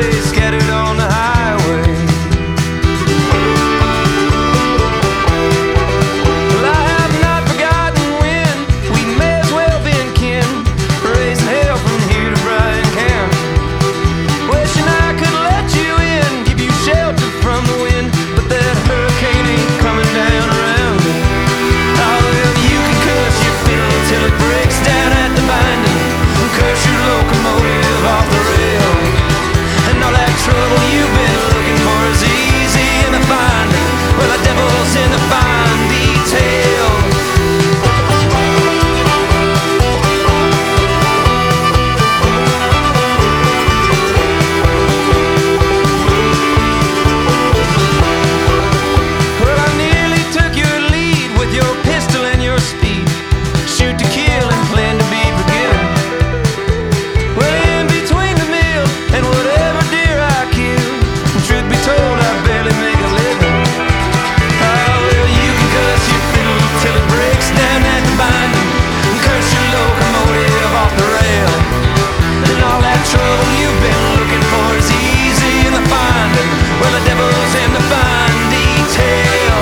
lay scattered on the highway. Well, I have not forgotten when we may as well been kin, raising hell from here to Bryan County. Wishing I could let you in, give you shelter from the wind, but that hurricane ain't coming down around me. Oh, well, you can cuss your fiddle till it breaks down at the binding, and curse your locomotive off the rail. And all that trouble you've been looking for is easy in the finding. Well, the devil's in the fine detail. Well, I nearly took your lead with your pistol and your speed. Shoot to kill and plan to be forgiven. Well, in between the meal and whatever deer I kill, truth be told, I barely make a living. Oh, well, you can cuss your fiddle till it breaks down at the binding, and curse your locomotive off the rail. And all that trouble you've been looking for is easy in the finding. Well, the devil's in the fine detail.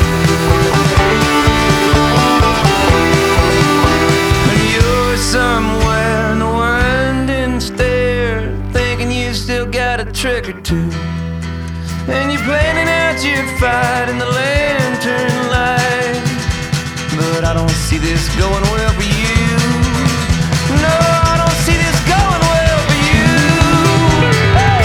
And you're somewhere in the winding stair, thinking you still got a trick or two. And you're planning out your fight in the lantern light, but I don't see this going well for you. No, I don't see this going well for you. Hey!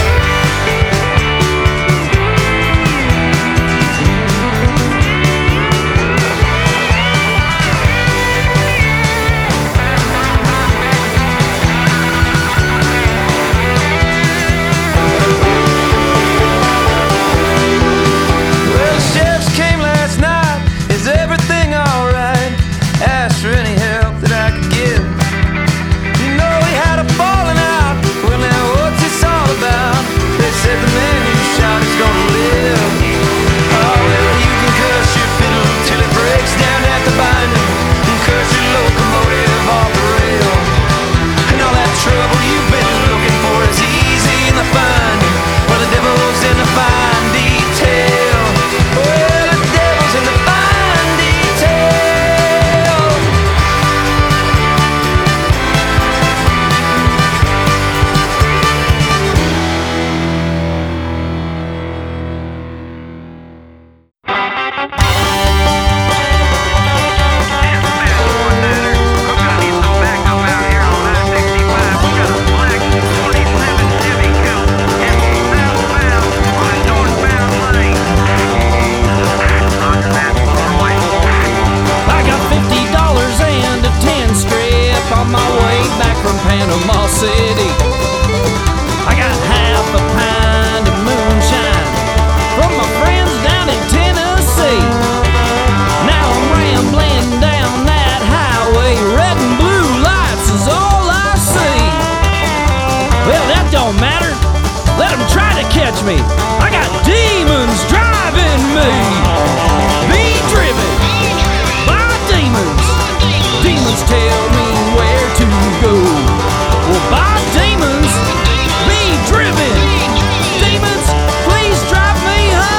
Well, the sheriffs came last night. Is everything alright? Asked for any help that I could give. You know we had a falling out. Well, now what's this all about? They said the man you shot is gonna live. Oh, well, you can curse your fiddle till it breaks down at the binding, and curse your locomotive off the rail. And all that trouble you've been looking for is easy in the finding. Well, the devil's in the fine detail. Well, the devil's in the fine detail. I got $50 and a 10 strip on my way back from Panama City. I got half a pint of moonshine from my friends down in Tennessee. Now I'm rambling down that highway, red and blue lights is all I see. Well, that don't matter, let them try to catch me. I got demons driving me. Be driven by demons. Demons tell me where to go. Well, by demons, be driven. Demons, please drive me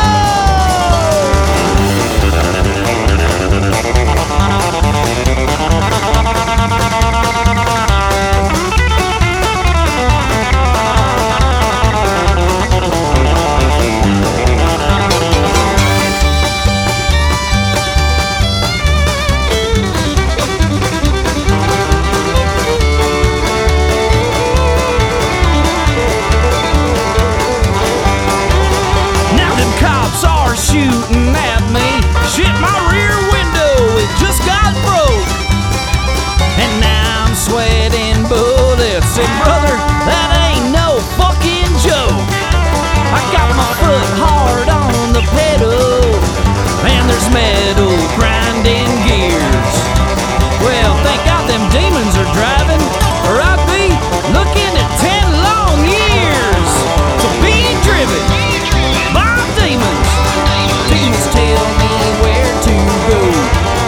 Now them cops are shooting at me. Shit, my rear window, it just got broke. And now I'm sweating bullets. And brother, that ain't no fucking joke. I got my foot hard on the pedal, and there's metal grinding gears. Well, thank God them demons are driving, or I'd be looking at 10 long years. So be driven by demons. Demons tell me where to go.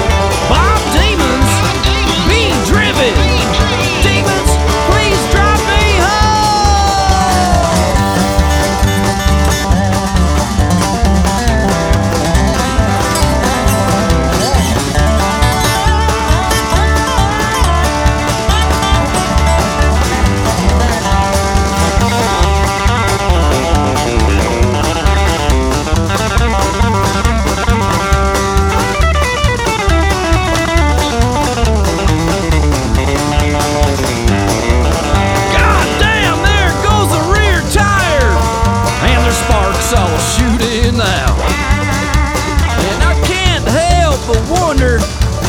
By demons, be driven. Demons, please drive me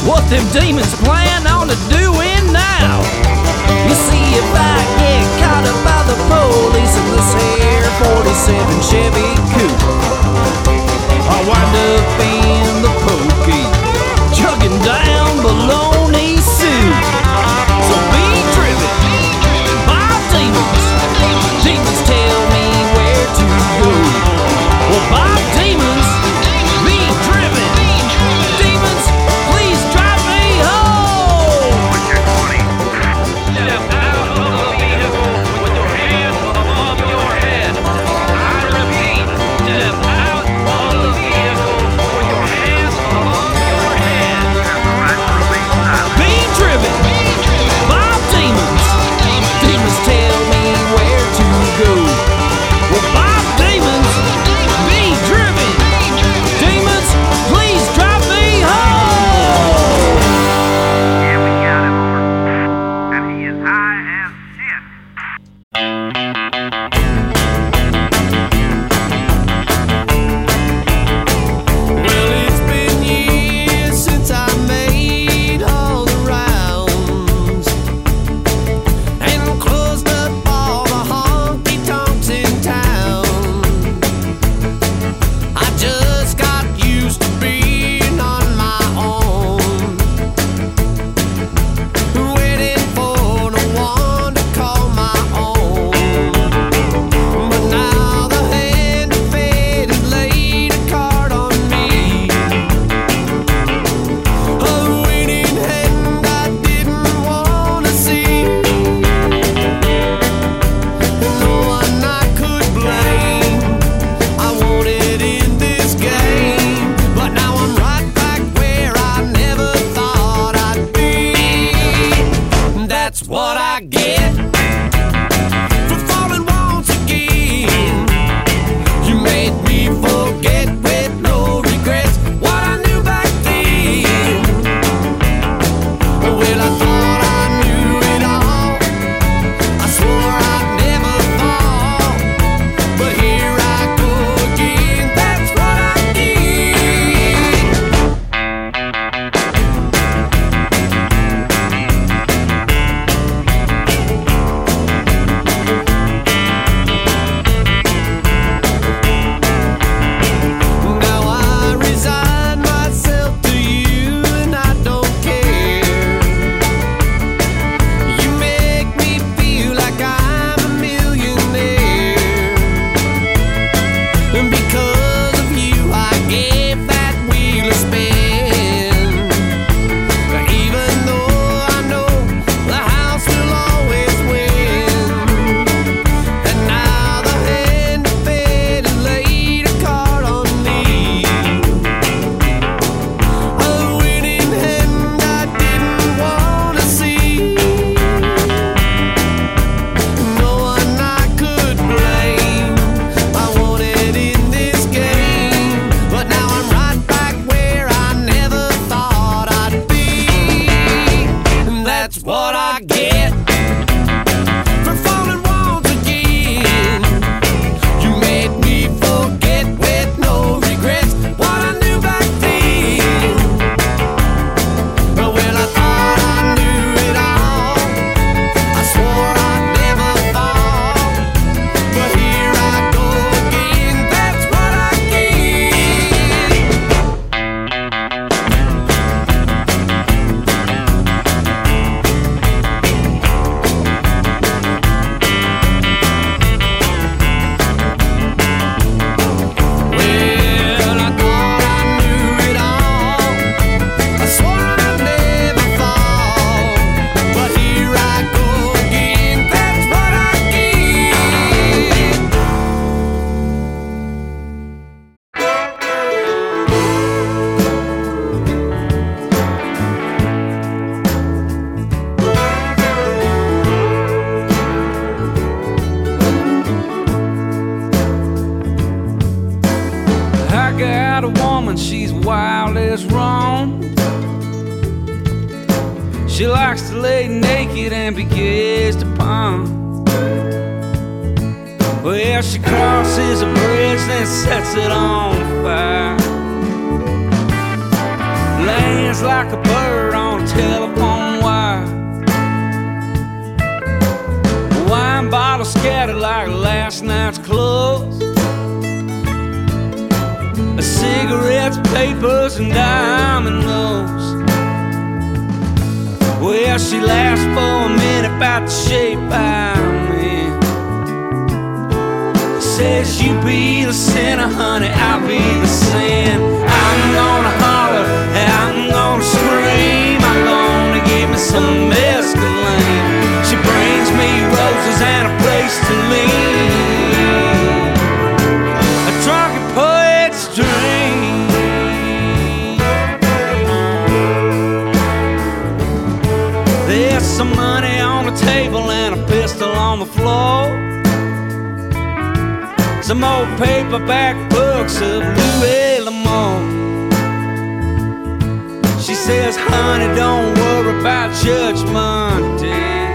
what them demons plan on doing now. You see, if I get caught up by the police in this here 47 Chevy coupe, I'll wind up in the pokey, chugging down bologna soup. So be driven by demons. Demons tell me where to go. Well, by demons, be driven. Demons, please drive me home. Step out of the vehicle with your hands above your head. I repeat, step out of the vehicle with your hands above your head. Be driven by demons. Demons tell me where to go. Well, by demons, be driven. Demons, please drive me home. Yeah, we got him over. And he is high as shit. Well, it's been years since I made all the rounds and closed up all the honky tonks in town. I just got used to being on my own, waiting for the one to call my own. But now the hand of fate has laid a card on me, a winning hand I didn't wanna see. No one I could blame. I wanted in this game, but now I'm right back where I never thought I'd be. That's what I get for falling once again. You made me forget with no regrets what I knew back then. Well, I thought I knew it all. I swore I'd never fall, but here I go again. That's what I did. Now I resign myself to you and I don't care. You make me feel like I'm a millionaire. And because of you I gave that wheel a spin. Even though I know the house will always win. And now the hand of fate has laid a card on me, a winning hand I didn't wanna see. No one I could blame. I wanted in this game, but now I'm right back where I never thought I'd be. And that's what I get for falling once again. You made me forget with no regrets what I knew back then. Well, I thought I knew it all. I swore I'd never fall, but here I go again. That's what I get. Well, I thought I knew it all. I swore I'd never fall, but here I go again. That's what I get. I got a woman, she's wild as wrong. She likes to lay naked and be gazed upon. Well, she crosses a bridge, then sets it on fire. Lands like a bird tatted like last night's clothes. Cigarettes, papers, and diamond notes. Well, she laughs for a minute about the shape I'm in. Says you be the sinner, honey, I'll be the sin. I'm gonna holler, I'm gonna scream, I'm gonna give me some mescaline. She brings me roses and a place to lean, a drunken poet's dream. There's some money on the table and a pistol on the floor. Some old paperback books of Louis L'Amour. She says, honey, don't worry about Judgment Day.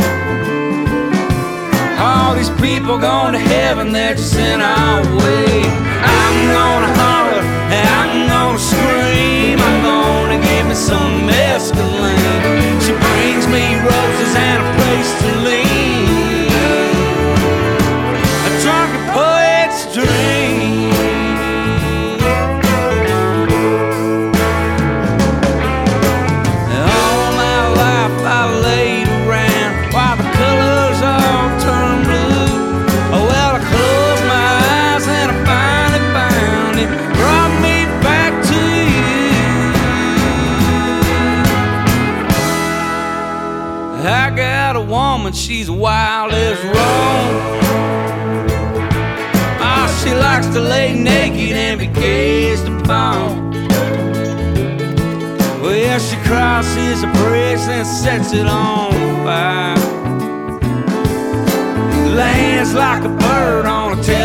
All these people going to heaven, they're just in our way. I'm gonna holler, I'm gonna scream, I'm gonna give me some mescaline. She brings me roses and a place to lean, a drunken poet's dream. All my life I laid around while the colors all turned blue. Oh, well, I closed my eyes and I finally found it, brought me back to you. I got a woman, she's wild as Rome. She likes to lay naked and be gazed upon. Well, she crosses a bridge and sets it on fire. Lands like a bird on a